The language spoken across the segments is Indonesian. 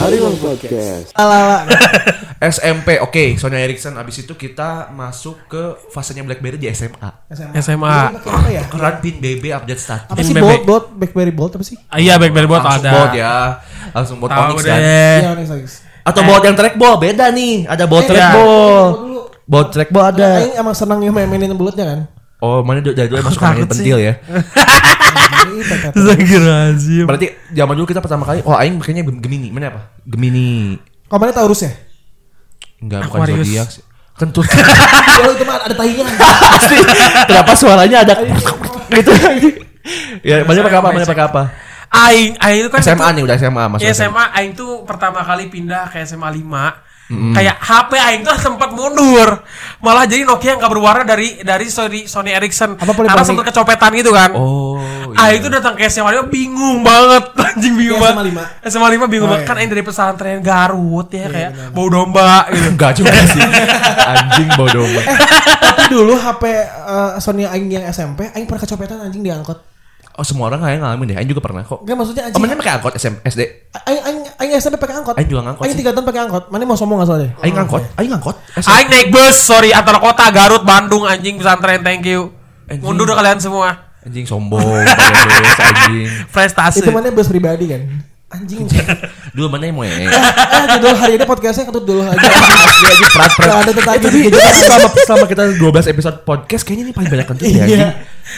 Harimau Podcast. SMP, oke. Sony Ericsson. Abis itu kita masuk ke fasenya BlackBerry di SMA. Apa ya? Keren pin BB update status. Apa sih Bolt? BlackBerry Bolt apa sih? Iya, BlackBerry Bolt Langsung ada. Bolt ya. Langsung Bolt Tahu Onyx deh. kan. Iya, Onyx. Atau Bolt yang trackball beda nih. Ada Bolt trackball. Bolt trackball ada. Aing emang senang ya mainin bulutnya kan. Oh, mana dari dulu masuk main takut pentil ya. Astagfirullahaladzim. Berarti zaman dulu kita pertama kali, aing kayaknya Gemini. Mana apa? Gemini. Kamarnya Taurus ya? Enggak, bukan Aquarius. zodiak sih. Kentut. Oh itu mah ada tahinya. Pasti. Kenapa suaranya ada gitu? Ya, mana pakai apa? Aing itu kan SMA nih, udah SMA masuk SMA Aing tuh pertama kali pindah ke SMA 5. Kayak HP Aing tuh sempat mundur. Malah jadi Nokia yang gak berwarna dari Sony Ericsson. Karena sempat kecopetan gitu kan. Oh. Aing tuh datang ke SMA 5 bingung banget. Anjing bingung banget. SMA 5 bingung banget. Kan Aing dari pesantren Garut ya kayak bau domba gitu. Enggak juga sih. Anjing bau domba. Tapi dulu HP Sony Aing yang SMP, Aing pernah kecopetan anjing di angkot. Oh, semua orang kayaknya ngalamin deh. Aing juga pernah kok. Enggak maksudnya anjing. Mana pakai angkot SD? Aing SMP pakai angkot. Aing juga ngangkot Aing sih. 3 tahun pakai angkot. Mana mau sombong enggak soalnya? Aing ngangkot. Aing naik bus, sorry, antar kota Garut, Bandung, anjing pesantren, thank you. Anjing. Mundur dah kalian semua. Anjing sombong, pakai bus anjing. Prestasi. Itu mana bus pribadi kan? Anjing. Dulu mana yang mau Judul hari ini podcastnya ketut dulu aja. Anjing prat. Ada tetangga Jadi selama kita 12 episode podcast kayaknya ini paling banyak kentut ya anjing.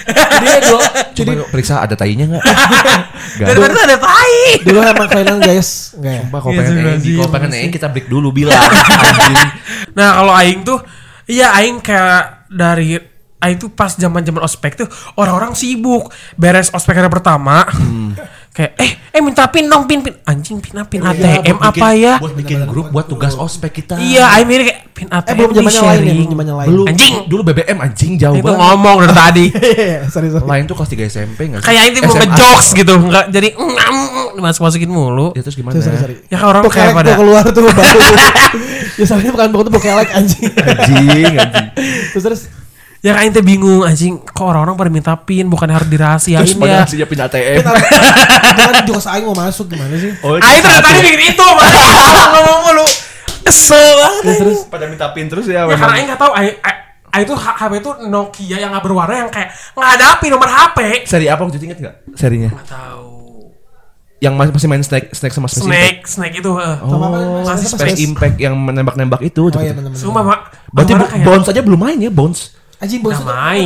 Coba periksa ada tainya enggak? Dari mana ada tai? Dulu emang kalian guys. Enggak ya? Sumpah kalau pengen kita break dulu bilang anjing. Nah, kalau Aing tuh Aing kayak dari Aing tuh pas zaman-zaman ospek tuh orang-orang sibuk beres ospek hari pertama. Kayak minta pin dong, pin anjing, pin ATM apa ya? Buat bikin grup buat tugas ospek kita. Iya, Aing mirip kayak pin ATM Belum di zamannya sharing. lain. Belum. Anjing. Dulu BBM anjing jauh Itu banget. ngomong dari tadi. Sorry. Lain tuh kelas 3 SMP enggak sih? Kayak Aing tuh mau SMA. ngejokes gitu, enggak jadi dimasukin mulu. Ya terus gimana? Sorry. Ya kan orang kayak pada keluar tuh baru. Ya soalnya bukan tuh bokelek anjing. Anjing. Terus ya kan Aing bingung anjing, kok orang-orang pada minta pin bukan harus dirahasiain Terus pada ya. ngasihnya pin ATM. Jangan juga aing mau masuk gimana sih? Aing tuh dari tadi bikin itu, ngomong mulu. Kesel banget. Terus Pada minta pin terus ya. Ya karena Aing enggak tahu Aing tuh HP itu Nokia yang enggak berwarna yang kayak enggak ada pin nomor HP. Seri apa waktu itu inget enggak? Serinya. Enggak tahu. Yang masih main Snake sama Space Impact. Snake itu. masih Space Impact yang menembak-nembak itu. Oh iya benar. Sumpah, Mak. Berarti Orang kayak Bounce aja belum main ya, Bounce. Anjing udah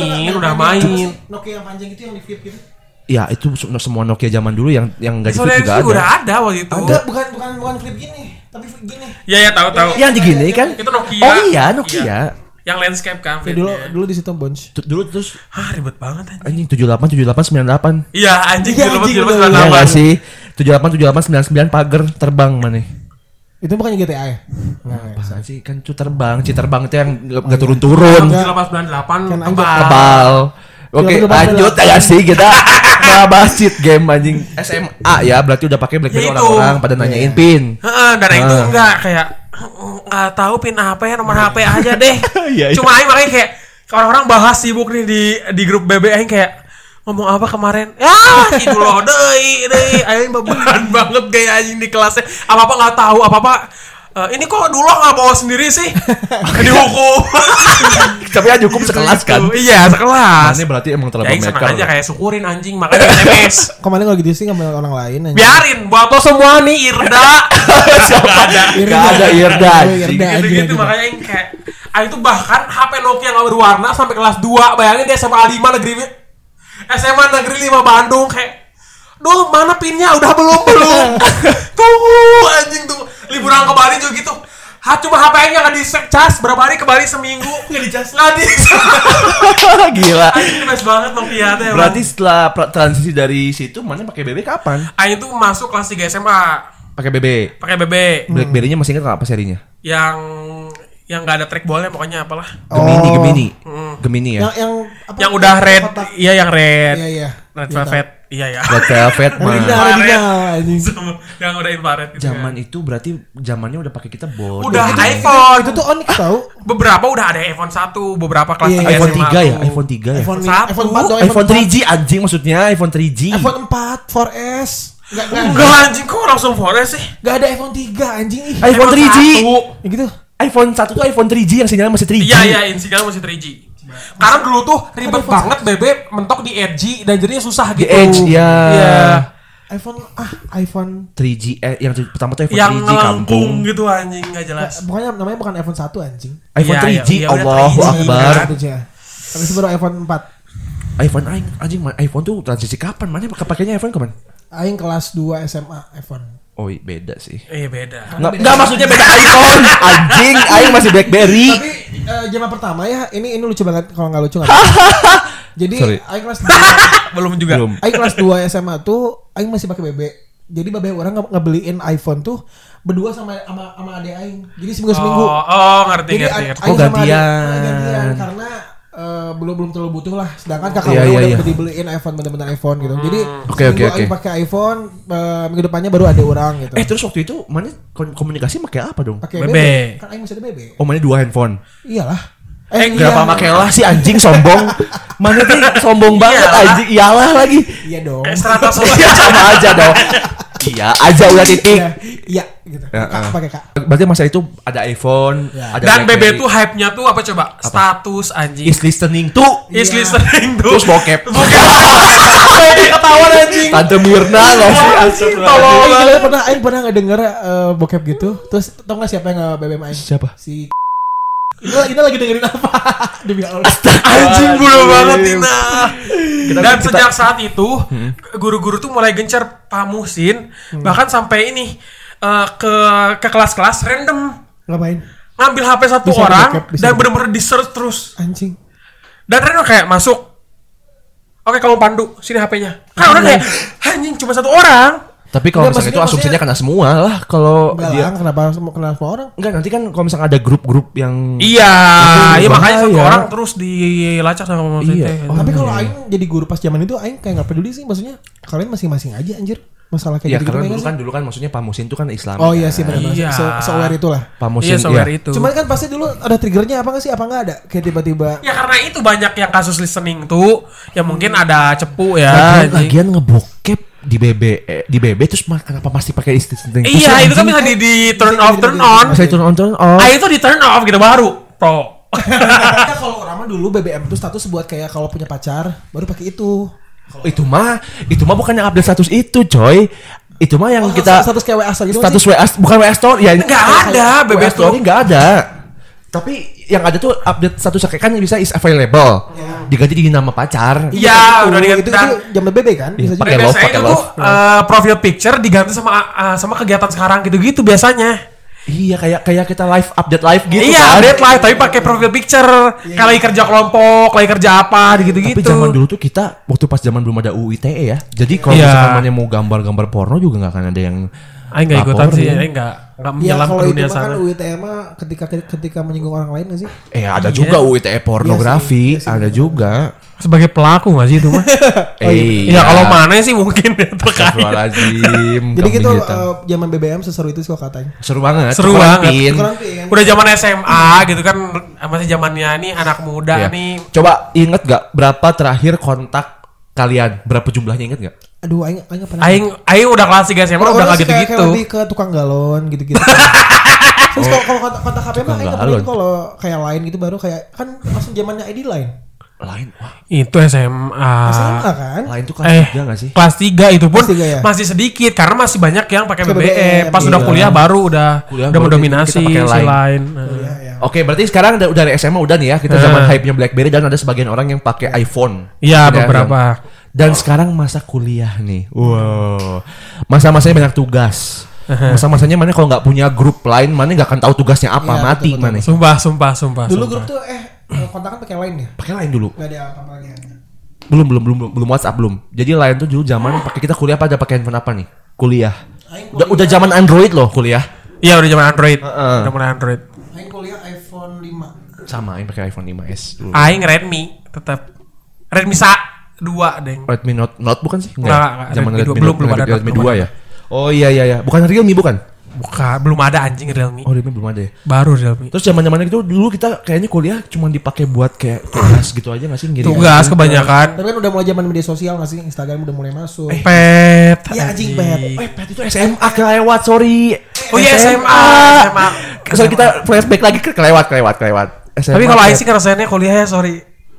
main. Nokia yang panjang itu yang di flip gitu. Ya, itu semua Nokia zaman dulu yang enggak di flip Soalnya juga itu ada. udah ada waktu itu. Enggak, bukan flip gini, tapi flip gini. Iya, tahu. Yang digini kan? Itu Nokia. Oh iya, Nokia. Yang landscape kan. Ya, dulu di situ Bounce. Dulu terus Ribet banget anjing. anjing 78 98. Iya, anjing Iya, dulu anjing, dulu bener. Iya enggak sih? 78 99 pagar terbang mana? Itu bukannya GTA ya? Masa sih kan itu terbang itu yang enggak turun-turun. 98 Kebal. Oke, lanjut ya sih kita bahas cheat game anjing SMA ya, berarti udah pakai BlackBerry Ya itu. orang-orang pada nanyain pin. Heeh, dan itu enggak kayak enggak tahu pin HP, nomor HP aja deh. Iya. Cuma aing makanya kayak orang-orang bahas sibuk nih di grup BB aing kayak ngomong apa kemarin? Ya, itu loh deui aing beban banget kayak anjing di kelasnya. Apa-apa enggak tahu, apa-apa ini kok dulu nggak bawa sendiri sih? Dihukum. Tapi aja hukum sekelas kan. Iya, sekelas. Ini berarti emang terlalu Ya, senang maker. aja kayak syukurin anjing makanya SMS. Kemarin kalau gitu sih sama orang lain anjing. Biarin buat lo semua nih Irda. Siapa? Gak ada Irda anjing. Gitu makanya yang kayak itu bahkan HP Nokia nggak berwarna sampai kelas 2. Bayangin dia SMA 5 negeri 5 Bandung kayak duh mana pinnya udah belum tunggu anjing tuh liburan ke Bali juga gitu cuma HP-nya nggak dicas berapa hari ke Bali seminggu nggak dicas Gila. anjing best banget Nokia tuh Berarti setelah transisi dari situ mana pakai BB kapan? Aing tuh masuk kelas 3 SMA Pakai BB. BlackBerry-nya masih ingat apa serinya? yang nggak ada trackballnya pokoknya apalah Gemini ya. yang udah red yang red Iya. red velvet iya ya Red Velvet mah. yang udah infrared gitu Zaman kan. itu berarti zamannya udah pakai kita bodoh. Udah iPhone. Itu tuh Onyx tahu. Beberapa udah ada iPhone 1, beberapa kelas 3 Iya, iPhone SMA 3 ya, tuh. iPhone 3 ya. iPhone 1. 4 dong, iPhone 3G anjing maksudnya, iPhone 3G. iPhone 4 4S. Enggak anjing, kok langsung Forest sih? Gak ada iPhone 3 anjing ih. iPhone 3G. Ya gitu. iPhone 1 tuh iPhone 3G yang sinyalnya masih 3G. Iya, sinyalnya masih 3G. Karena dulu tuh ribet banget BB mentok di Edge dan jadinya susah Di gitu. Edge, ya. iPhone 3G yang pertama tuh iPhone Yang 3G ngelengkung kampung. gitu anjing, enggak jelas. pokoknya namanya bukan iPhone 1 anjing. iPhone Iya, 3G, iya, Allahu 3G, Akbar. kan? Habis itu baru iPhone 4. iPhone anjing iPhone tuh transisi kapan? Mana pakainya iPhone kapan? Aing kelas 2 SMA iPhone. Oh beda sih. Iya beda. Enggak maksudnya beda iPhone. Anjing, aing masih BlackBerry. Tapi zaman pertama ya, ini lucu banget kalau nggak lucu nggak. Jadi Sorry. Aing kelas 2 Belum juga. Aing kelas 2 SMA tuh Aing masih pakai BB. Jadi babe orang ngebeliin iPhone tuh berdua sama adek Aing. Jadi seminggu. Ngerti. Jadi Ngerti. Aing sama adek gantian. gantian karena belum terlalu butuh lah. Sedangkan kakak Iya, orang iya. udah dibeliin iPhone, bener-bener iPhone gitu. Jadi Oke. Aing pakai iPhone, minggu depannya baru ada orang gitu. Terus waktu itu mana komunikasi pakai apa dong? Pakai BB. BB. Kan Aing masih ada BB. Oh mana 2 handphone. Iyalah. Kenapa pakai lah si anjing sombong? Mana tuh sombong banget Iyalah. anjing. Iyalah lagi. Iya dong. Kayak strata Iya sosial. sama aja dong. Iya aja udah titik. Iya gitu. Kak pakai Kak. Berarti masa itu ada iPhone, Ya. ada Dan BlackBerry. BB tuh hype-nya tuh apa coba? Status anjing. is listening tuh. Is Iya. listening tuh. Terus bokep. Ketahuan anjing. Tante Mirna nggak sih? Tolong. Aing pernah ngedenger bokep gitu. Terus tau gak siapa yang nge-BBM Aing? Siapa? Si kita lagi dengerin apa? Demi Allah. Anjing bulu banget Tina. Dan kita- sejak saat itu guru-guru tuh mulai gencar Pak Muhsin bahkan sampai ini ke kelas-kelas random Ngapain? ngambil HP satu Bisa orang di-backup, bisa dan di- bener-bener di-search terus. Anjing. Dan random kayak masuk. Oke kamu pandu sini HP-nya. Kan orang kayak anjing cuma satu orang. Tapi kalau Enggak, misalnya itu maksudnya- asumsinya kena semua lah. Kalau Enggak dia lah, kenapa semua orang? enggak nanti kan kalau misalnya ada grup-grup yang Iya, Itu iya makanya satu bahaya. orang terus dilacak sama Pak Muhsin. Iya. teh. Oh, Tapi kalau iya. Aing jadi guru pas zaman itu Aing kayak nggak peduli sih, maksudnya kalian masing-masing aja anjir. Masalah kayak ya gitu-gitu karena mainnya dulu kan maksudnya Pak Musin itu kan Islam. Oh iya sih benar-benar. Iya. Se-aware itulah. Pak Iya, Musin software itu. Cuman kan pasti dulu ada triggernya apa nggak sih? Apa nggak ada? Kayak tiba-tiba Ya karena itu banyak yang kasus listening tuh, ya mungkin ada cepu ya. anjing. Lagian ngebokep di BB terus kenapa masih pakai listening? Iya, itu kan bisa di turn off, turn on. Masa turn on. Ah itu di turn off gitu baru pro. Kita kalau orang mah dulu BBM itu status buat kayak kalau punya pacar baru pakai itu. Itu mah bukannya update status itu, coy. Itu mah yang kita status kayak WA gitu status WA bukan WA story ya. Nggak ada, BB WA tuh. story enggak ada. Tapi yang ada tuh update status kayak kan bisa is available. Diganti di nama pacar. Iya, udah diganti. itu Dan jam BB kan? Bisa pakai juga. love, biasanya pakai itu tuh profil picture diganti sama kegiatan sekarang gitu-gitu biasanya. Iya kayak kita update live gitu Iya, kan. update live tapi pakai profil picture. Kayak lagi kerja kelompok, lagi kerja apa gitu-gitu. Tapi zaman dulu tuh kita waktu pas zaman belum ada UU ITE ya. Jadi kalau Iya. misalkan mana mau gambar-gambar porno juga nggak akan ada yang Aing enggak ikutan sih, laporin. Aing enggak Ya menyelam kalau ke itu dunia mah kan sana. UITE mah ketika menyinggung orang lain nggak sih? ada juga UU ITE pornografi, Iya sih, ada juga. Sebagai pelaku enggak sih itu mah? Iya, kalau mana sih mungkin ya terkait. Astagfirullahaladzim. Jadi gitu kambing hitam. zaman BBM seseru itu sih kok katanya. Seru banget. Seru Cukuran banget. pin. Cukuran pin. Udah zaman SMA gitu kan masih zamannya nih anak muda Iya. nih. Coba inget gak berapa terakhir kontak kalian? Berapa jumlahnya inget gak? Aduh, aing nggak pernah. Aing udah kelas 3 SMA udah Orang enggak sih kayak gitu-gitu. lebih ke tukang galon gitu-gitu. Terus kalau kontak HP mah aing nggak pernah galon. itu kalau kayak lain gitu baru kayak kan langsung zamannya ID lain. Lain, wah. Itu SMA. SMA kan? Lain tuh kelas 3 gak sih? Kelas 3 itu pun Kelas 3 ya? masih sedikit karena masih banyak yang pakai Pakai BBM. BBM, Pas udah iya. kuliah baru udah Kuliah baru mendominasi kita pakai si Line. lain. Iya, iya. Oke, berarti sekarang dari SMA udah nih ya, kita zaman hype-nya BlackBerry dan ada sebagian orang yang pakai iPhone. Iya, Ada beberapa. Dan sekarang masa kuliah nih. Wow. Masa-masanya banyak tugas. Masa-masanya mana kalau nggak punya grup lain, mana nggak akan tahu tugasnya apa, Iya, mati betul, betul. mana. Sumpah. Dulu grup tuh kontakan pakai lain ya? Pakai lain dulu. Enggak ada apa lagi. Belum WhatsApp belum. Jadi lain tuh dulu zaman pakai kita kuliah pada pakai handphone apa nih? Kuliah. Aing Udah zaman Android loh kuliah. Iya, udah zaman Android. Heeh. Udah mulai Android. Aing kuliah iPhone 5. Sama, yang pakai iPhone 5s dulu. Aing Redmi tetap. Redmi 2 deng. Redmi Note bukan sih? Enggak, Zaman Redmi Redmi 2, belum ada Redmi Note, 2 ya. Oh iya. Bukan Realme bukan? Bukan, belum ada anjing Realme. Oh, Realme belum ada ya. Baru Realme. Terus zaman-zaman itu dulu kita kayaknya kuliah cuma dipakai buat kayak tugas gitu aja nggak sih? Ngirim Tugas kebanyakan. Tapi kan udah mulai zaman media sosial nggak sih? Instagram udah mulai masuk. Pet. Iya anjing pet. Pet itu SMA kelewat, sorry. Oh iya SMA. Sorry kita flashback lagi kelewat. SMA, Tapi kalau Aing sih ngerasainnya kuliah ya, sorry.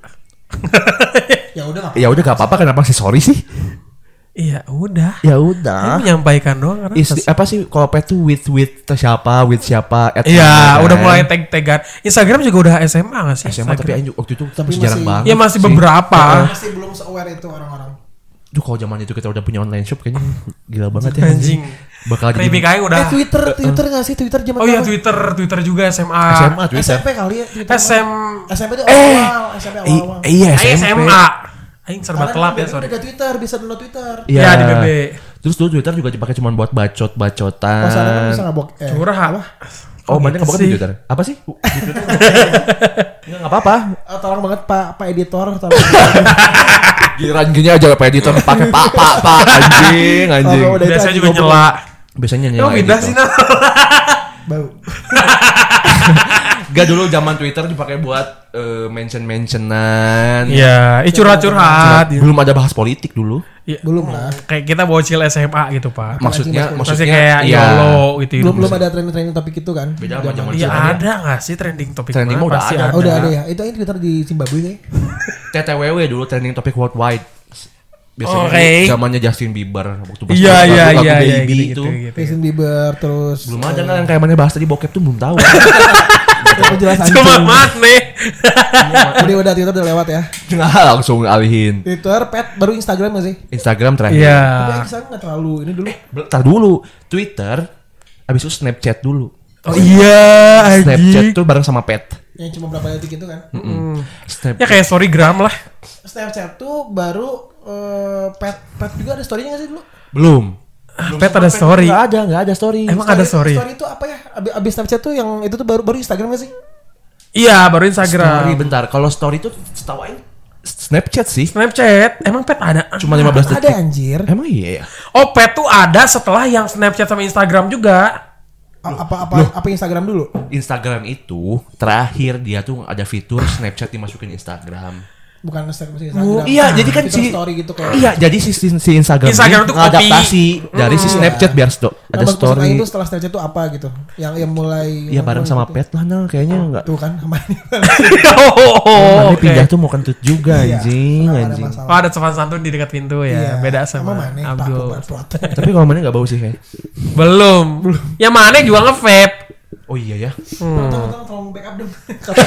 Ya udah Ya udah gak apa-apa, kenapa sih sorry sih? Iya, udah. Ya Aing udah. menyampaikan doang karena Apa sih kalau pet tuh with siapa? Iya, udah mulai tag-tagan. Instagram juga udah SMA gak sih? SMA tapi Aing waktu itu Tapi masih jarang masih- banget. Ya masih sih. beberapa. masih belum se-aware itu orang-orang. Duh kalau zaman itu kita udah punya online shop kayaknya gila banget ya. Anjing. Bakal jadi Remake Aing udah. Twitter nggak sih? Twitter zaman Oh iya, berapa? Twitter juga SMA. SMA Twitter. SMP kali ya Twitter. SMP itu SMP awal-awal. Iya Aing SMP. SMA. Aing serba telat ya, sorry. Udah Twitter, bisa download Twitter. Iya, di BB. Terus dulu Twitter juga dipakai cuma buat bacot-bacotan. Pas ada kan bisa ngabok. Curhat. Oh, banyak gitu nggak sih? di Twitter? Apa sih? Di Twitter nggak apa-apa. Tolong banget Pak editor, tolong. Giliran gini aja Pak editor pakai pak anjing. Oh, udah itu Biasanya anjing juga goblok. nyela. Biasanya Emang nyala pindah editor. sih, nah. Bau. Gak dulu zaman Twitter dipakai buat mention-mentionan. Iya, curhat-curhat. Belum ada bahas politik dulu. Iya. Belum lah. Kayak kita bocil SMA gitu, Pak. Maksudnya Masih kayak iya. YOLO gitu. Belum ada trending topik itu kan. Beda sama zaman Iya sekarang. ada nggak sih trending topik? Trending mana? mah udah Pasti ada. Oh, udah ada ya. Itu aja Twitter di Zimbabwe sih. TTWW dulu trending topik worldwide. Biasanya Oke. zamannya Justin Bieber waktu pas Iya lagu iya iya Baby gitu, itu. gitu. Justin Bieber terus. Belum ada kan yang kayak mana bahas tadi bokep tuh belum tahu. Penjelasan. Cuma mana? Jadi udah Twitter udah lewat ya. Nah, langsung alihin. Twitter, pet, baru Instagram nggak sih? Instagram terakhir. Iya. Tapi Instagram nggak terlalu ini dulu. Bentar dulu. Twitter abis itu Snapchat dulu. Oh iya Snapchat anjing. tuh bareng sama Pet. Yang cuma berapa detik itu kan. Snapchat. Ya kayak storygram lah. Snapchat tuh baru pet juga ada story-nya nggak sih dulu? Belum. Pet ada story. Nggak ada story. Emang ada story? Story itu apa ya? Abis Snapchat tuh yang itu tuh baru Instagram nggak sih? Iya baru Story Instagram. bentar. Kalau story itu setahu Aing Snapchat sih. Snapchat. Emang Pet ada? Cuma 15 detik. Ada anjir. Emang iya ya? Oh Pet tuh ada setelah yang Snapchat sama Instagram juga. Apa Instagram dulu? Instagram itu terakhir dia tuh ada fitur Snapchat dimasukin Instagram. Bukan Instagram. Iya, jadi kan Fitur si story gitu kayak. Iya, jadi si Instagram, Instagram ini tuh ngadaptasi dari si Snapchat biar ada story. Itu setelah Snapchat tuh apa gitu? Yang mulai. Iya bareng sama gitu. Pet lah, nah kayaknya enggak. Tuh kan sama ini. Oh, Mana pindah tuh mau kentut juga Iya, anjing, nggak ada anjing. masalah. Oh ada sopan santun di dekat pintu ya. Iya. Beda sama Mana, Abdul. Pak, Tapi kalau mana enggak bau sih kayak. Belum. Yang mana juga nge-vape. Oh iya ya. Tolong backup dong.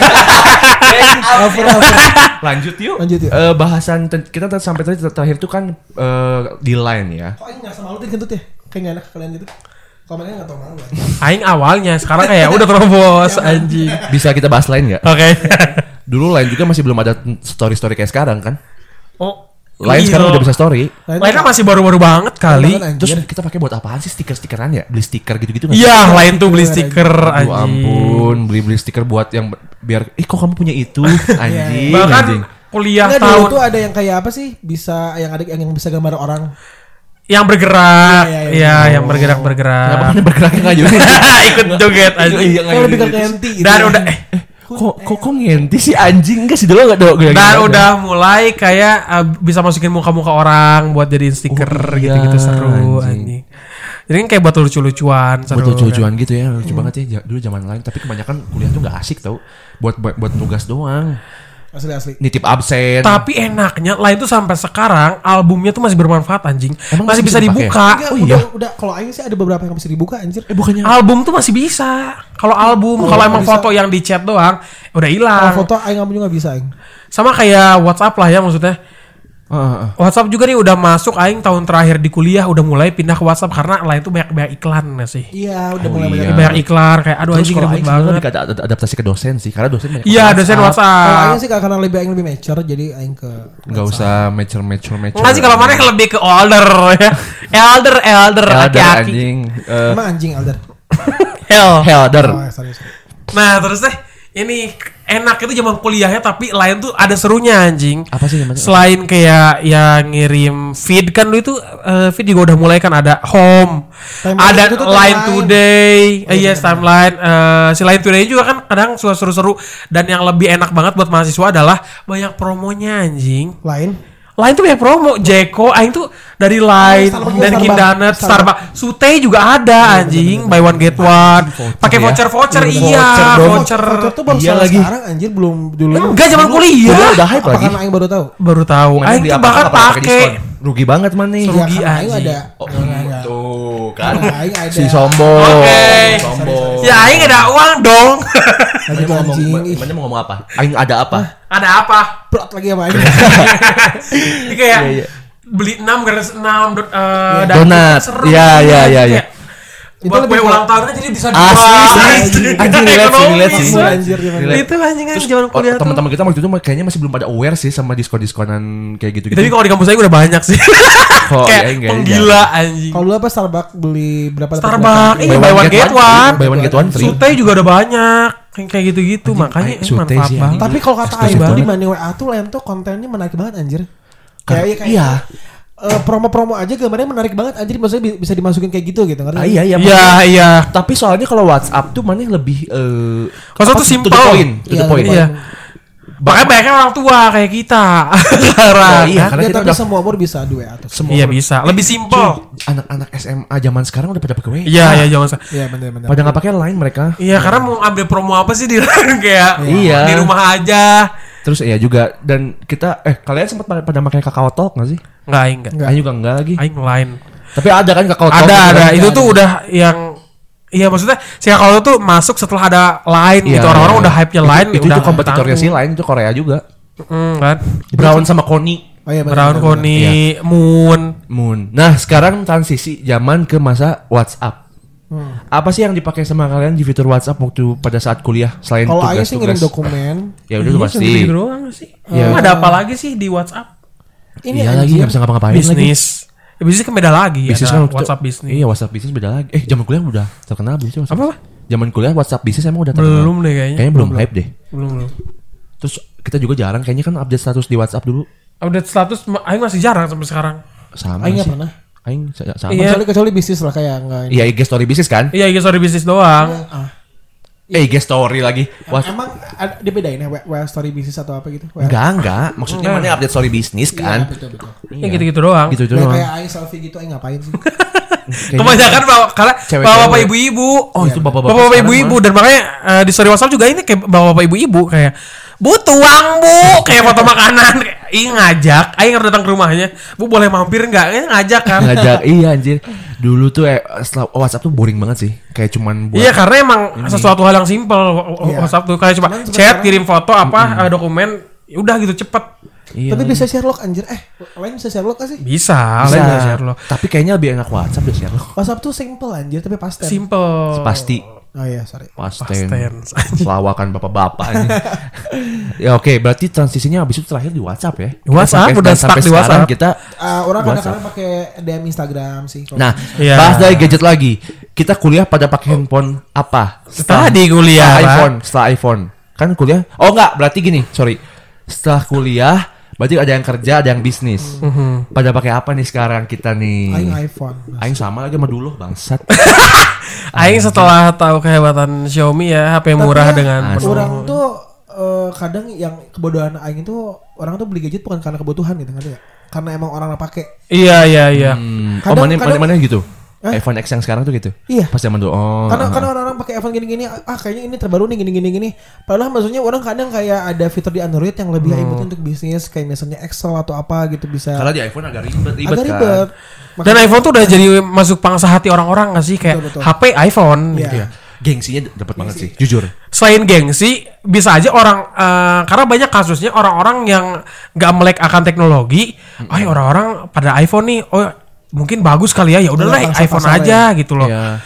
Lanjut yuk. Lanjut yuk. Bahasan kita sampai tadi terakhir tuh kan di line ya. Kok Aing ngerasa malu tuh kentut ya? Kayak nggak enak ke kalian gitu. Kalau mereka nggak tau malu kan. Aing awalnya sekarang kayak udah terobos anjing. Bisa kita bahas line nggak? Oke. Dulu line juga masih belum ada story-story kayak sekarang kan. Oh. Line iya. sekarang udah bisa story. Lain kan masih baru-baru banget kali. Terus kita pakai buat apaan sih stiker-stikeran ya? Beli stiker gitu-gitu nggak? Iya, lain tuh beli stiker Aduh anjing. ampun, beli stiker buat yang biar kok kamu punya itu anjing, Bahkan anjing. kuliah Nggak, dulu tahun tuh ada yang kayak apa sih? Bisa yang ada yang bisa gambar orang. yang bergerak. Iya, iya, Iya, iya. yang bergerak-bergerak. Kenapa mana bergeraknya nggak juga? Ikut joget anjing. Iya, Kayak lebih ke Kenti gitu. Dan ya. udah kok ngenti sih anjing, enggak sih dulu enggak dong. dan udah mulai kayak bisa masukin muka-muka orang buat jadiin stiker Oh, iya, gitu-gitu seru anjing. anjing. Jadi kan kayak buat lucu-lucuan seru. buat lucu-lucuan kan. gitu ya, lucu banget ya dulu zaman lain. Tapi kebanyakan kuliah tuh nggak asik tau, buat tugas doang, Asli. nitip absen. Tapi enaknya lain tuh sampai sekarang albumnya tuh masih bermanfaat anjing. Emang masih masih bisa bisa dipakai? dibuka. Enggak, Oh iya. udah kalau Aing sih ada beberapa yang bisa dibuka anjir. Bukannya Album tuh masih bisa. Kalau album, kalau emang bisa. foto yang di chat doang udah Kalau hilang. foto Aing juga bisa Aing. Sama kayak WhatsApp lah ya maksudnya. WhatsApp juga nih udah masuk Aing tahun terakhir di kuliah udah mulai pindah ke WhatsApp karena lain tuh banyak iklan nggak sih. Iya, udah Oh, mulai iya. banyak. Banyak iklan kayak aduh terus anjing kalau ribet Aing sebenarnya banget. lebih ke adaptasi ke dosen sih, karena dosen banyak Iya dosen Kalau WhatsApp. Aing sih karena Aing lebih mature jadi Aing ke nggak usah mature. Enggak sih kalau mana yang lebih ke older ya. Elder Elder aki-aki. anjing. Emang anjing Alder. Hell. Helder. Oh, sorry. Nah terus deh ini enak itu zaman kuliahnya, tapi lain tuh ada serunya anjing. Apa sih namanya? Selain kayak ya ngirim feed kan dulu itu feed juga udah mulai kan ada home, Timeline ada itu tuh line timeline. today, yes bener. timeline. Si line today juga kan kadang suka seru-seru, dan yang lebih enak banget buat mahasiswa adalah banyak promonya anjing. Lain tuh banyak promo, Jeko, aing tuh dari Line, Starbucks, Dunkin' Donuts, Starbucks. Starbucks, Sute juga ada anjing, buy one get one, pakai ya. voucher, iya, Voucher tuh baru Iya soal lagi. sekarang anjir, belum dulu. Enggak zaman kuliah, Udah hype Apa lagi. karena aing baru tahu? baru tahu, Mana aing di tuh apa-apa bahkan pakai pakai. diskon. Rugi banget man nih. Rugi Ya, karena aing anjing. ada. Oh, tuh kan. Aing ada. Si sombong. Oke. Sombong. Ya aing ada uang dong. Lagi Mana mau ngomong, anjing. mana mau ngomong apa? Aing ada apa? Ada apa? Plot lagi apa aing? Ini kayak Iya, iya. beli 6 gratis 6 Donat. Iya, iya, iya, iya. Itu Buat lebih kue ulang tahun kan jadi bisa Asli. Anjing relate sih. Anjir, gimana? Relate. Itu anjing Terus zaman kuliah tuh. teman-teman kita waktu itu kayaknya masih belum pada aware sih sama diskon-diskonan kayak gitu-gitu. Tapi kalau di kampus saya udah banyak sih. Oh, Kayak iya, enggak, penggila anjing. Kalau dulu apa Starbucks beli berapa? dapat Starbucks, berapa? iya buy one get one. Buy one get one free. Sute juga udah banyak. Kayak gitu-gitu, makanya Sute manfaat sih, banget. Tapi kalau kata Eksklusif aing tuh banget. di Money WA tuh lain tuh kontennya menarik banget anjir. Iya. Promo-promo aja gambarnya menarik banget anjir, maksudnya bisa dimasukin kayak gitu ngerti? Iya, iya. Iya, iya. Tapi soalnya kalau WhatsApp tuh mana lebih Kalau apa, tuh to the simple. point, to the Iya, point. Iya. Makanya banyaknya orang tua kayak kita. Oh, Sekarang. iya, kan? karena Ya, kita tapi udah semua umur bisa di WA tuh. semua Iya bisa. Lebih simple. anak-anak SMA zaman sekarang udah pada pakai WA. Iya, iya jangan salah. Iya benar-benar. Pada nggak pakai line mereka. Iya, karena mau ambil promo apa sih di kayak Iya. di rumah aja. Terus ya juga dan kita kalian sempat pada pakai Kakao Talk nggak sih? Enggak, aing enggak. Enggak. Aing juga enggak lagi. Aing lain. Tapi ada kan Kakao Talk. Ada. kan? Itu tuh ada. udah yang iya maksudnya si kalau tuh masuk setelah ada Line Iya, gitu, orang-orang iya. udah hype-nya Line Itu udah kompetitornya si Line itu Korea juga. kan. Brown sama Koni. Oh iya Brown benar. Koni, Iya. Moon. Moon. Nah, sekarang transisi zaman ke masa WhatsApp. Apa sih yang dipakai sama kalian di fitur WhatsApp waktu pada saat kuliah selain Kalau aing sih ngirim tugas-tugas? dokumen. Ya udah pasti. Gitu doang sih. Iya. Emang ada apa lagi sih di WhatsApp? Ini Iya lagi anjir. nggak bisa ngapa-ngapain lagi. Bisnis. Ya, bisnis kan beda lagi. Bisnis ada kan WhatsApp bisnis. Iya, WhatsApp bisnis beda lagi. Zaman kuliah udah terkenal belum sih WhatsApp? Apa? Zaman kuliah WhatsApp bisnis emang udah terkenal. Belum deh kayaknya. Kayaknya belum hype deh. Belum. Terus kita juga jarang kayaknya kan update status di WhatsApp dulu. Update status aing masih jarang sampai sekarang. Sama Aing nggak sih. pernah. Aing sama. Iya. Kecuali bisnis lah kayak enggak. Iya, IG story bisnis kan? Iya, IG story bisnis doang. IG story lagi. Wah, Emang dibedain ya WA story bisnis atau apa gitu? enggak. Maksudnya mana update story bisnis kan? Betul. Ya gitu-gitu doang. Gitu Nah, doang. kayak aing selfie gitu aing ngapain sih? Kebanyakan karena Cewek-cewek. bapak-bapak ibu-ibu. Oh, itu bapak-bapak. Bapak-bapak sekarang ibu-ibu mah. dan makanya di story WhatsApp juga ini kayak bapak-bapak ibu-ibu kayak butuh uang bu, kayak foto makanan. Ih ngajak, aing harus datang ke rumahnya. Bu boleh mampir nggak? Ngajak kan? Ngajak, iya anjir. Dulu tuh setelah WhatsApp tuh boring banget sih. Kayak cuman buat Iya karena emang sesuatu hal yang simpel Iya. WhatsApp tuh kayak cuma Cuman chat, sekarang- kirim foto apa dokumen, ya udah gitu cepet. Iya. Tapi bisa share log anjir. Lain bisa share log gak sih? Bisa, Bisa. lain share lo. Tapi kayaknya lebih enak WhatsApp deh share lo. WhatsApp tuh simple anjir tapi pasten. Simple. Pasti. Oh iya, sorry. Pasten. Pasten. Lawakan bapak-bapak ini. Ya oke, berarti transisinya habis itu terakhir di WhatsApp ya. WhatsApp, Sampai- udah dan sampai stuck di sekarang WhatsApp. kita Orang WhatsApp. kadang-kadang pakai DM Instagram sih. kalau- Nah, Iya. bahas dari gadget lagi. Kita kuliah pada pakai handphone apa? Tadi kuliah, Setelah Pak. iPhone, setelah iPhone. Kan kuliah? Oh enggak, berarti gini, sorry. Setelah kuliah, berarti ada yang kerja, ada yang bisnis. Pada pakai apa nih sekarang kita nih? aing iPhone. Aing sama lagi sama dulu, bangsat. Aing setelah tahu kehebatan Xiaomi ya HP murah Tapi dengan Asli. penuh. orang tuh kadang yang kebodohan aing itu orang tuh beli gadget bukan karena kebutuhan gitu ngerti ya? Karena emang orang pakai. Iya. Oh Kadang- mana gitu? Hah? iPhone X yang sekarang tuh gitu? Iya. Pas zaman dulu. Oh. Karena orang-orang pakai iPhone gini-gini, kayaknya ini terbaru nih gini-gini. Padahal maksudnya orang kadang kayak ada fitur di Android yang lebih ribet untuk bisnis, kayak misalnya Excel atau apa gitu bisa. Karena di iPhone agak ribet agak kan. ribet. Dan iPhone tuh udah jadi masuk pangsa hati orang-orang gak sih kayak Betul. HP iPhone Iya. gitu ya. Gengsinya dapat banget sih, jujur. Selain gengsi, bisa aja orang karena banyak kasusnya orang-orang yang nggak melek akan teknologi, orang-orang pada iPhone nih, mungkin bagus kali ya, ya udahlah Udah, iPhone pasar-pasar aja gitu loh. Iya.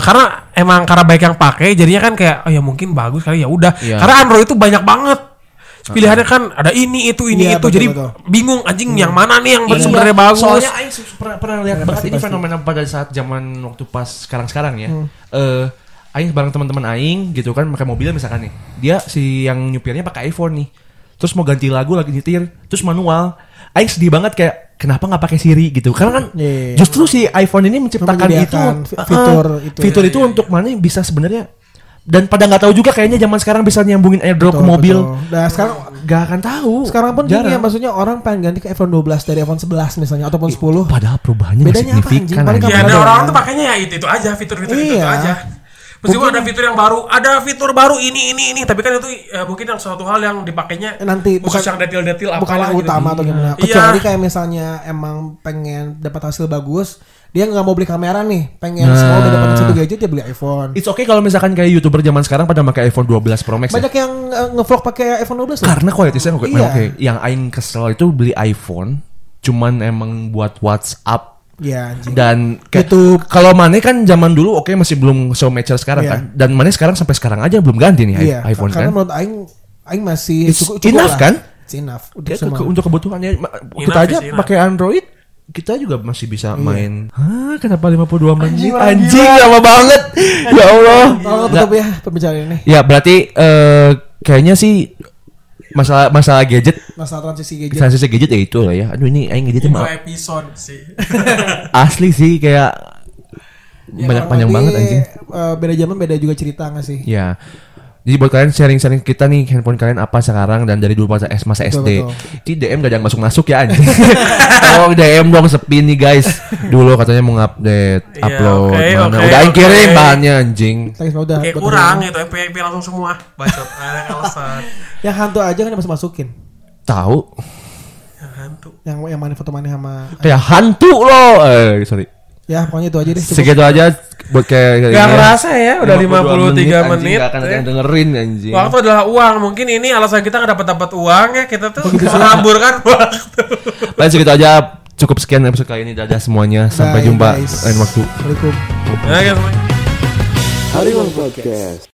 Karena baik yang pakai, jadinya kan kayak ya mungkin bagus kali ya udah. Iya. Karena Android itu banyak banget. Pilihannya kan ada ini itu Iya, betul, jadi betul. bingung anjing yang mana nih yang Iya. sebenarnya bagus. Soalnya Aing pernah lihat banget ini pasti. fenomena pada saat zaman waktu pas sekarang ya. Aing bareng teman-teman aing gitu kan pakai mobil misalkan nih. Dia si yang nyupirnya pakai iPhone nih. Terus mau ganti lagu lagi nyetir, terus manual. Aing sedih banget kayak kenapa nggak pakai Siri gitu. Karena kan justru si iPhone ini menciptakan itu fitur itu untuk mana bisa sebenarnya. Dan pada nggak tahu juga kayaknya zaman sekarang bisa nyambungin AirDrop ke mobil. Nah sekarang nggak akan tahu. Sekarang pun gini ya, maksudnya orang pengen ganti ke iPhone 12 dari iPhone 11 misalnya ataupun 10. Padahal perubahannya bedanya signifikan. Ya ada orang tuh pakainya ya itu aja, fitur-fitur itu aja. Meskipun ada fitur yang baru, ada fitur baru ini, tapi kan itu mungkin yang suatu hal yang dipakainya nanti khusus yang detail-detail bukan yang gitu. utama atau gimana. Kecuali kayak misalnya emang pengen dapat hasil bagus, dia nggak mau beli kamera nih, pengen semua udah dapat satu gadget dia beli iPhone. It's okay kalau misalkan kayak YouTuber zaman sekarang pada pakai iPhone 12 Pro Max. Banyak yang ngevlog pakai iPhone 12 karena kualitasnya oke. Yang aing kesel itu beli iPhone cuman emang buat WhatsApp. Ya, anjing. Dan kalau Mane kan zaman dulu masih belum so mature sekarang kan. Dan Mane sekarang sampai sekarang aja belum ganti nih iPhone karena kan. menurut aing masih cukup enough kan? It's enough untuk kebutuhannya. Kita aja pakai Android kita juga masih bisa main. Kenapa 52 menit? Anjing lama banget. Ya Allah. Tolong tutup ya pembicaraan ini. Ya berarti kayaknya sih masalah gadget, masalah transisi gadget ya itu lah ya. Aduh ini aing gadgetnya mah episode sih. Asli sih kayak banyak panjang banget anjing. Beda zaman beda juga cerita nggak sih? Ya. Jadi buat kalian sharing kita nih handphone kalian apa sekarang dan dari dulu masa SD. Ini DM gak ada yang masuk ya anjing. Tolong DM dong sepi nih guys. Dulu katanya mau update, upload mana. Udah aing kirim bahannya anjing. Kayak kurang itu MP langsung semua. Bacot. Ada alasan. Yang hantu aja kan masukin. Tahu. Yang hantu. Yang mana foto mana sama kayak hantu loh. Sorry. Ya pokoknya itu aja deh. Segitu aja buat kayak gak ngerasa ya udah 53 menit. Gak akan ada yang dengerin anjing. Waktu adalah uang. Mungkin ini alasan kita gak dapat uang ya. Kita tuh melamburkan waktu. Baik segitu aja. Cukup sekian episode kali ini. Dadah semuanya. Sampai jumpa lain waktu. Assalamualaikum. Ya guys. Harimau Podcast.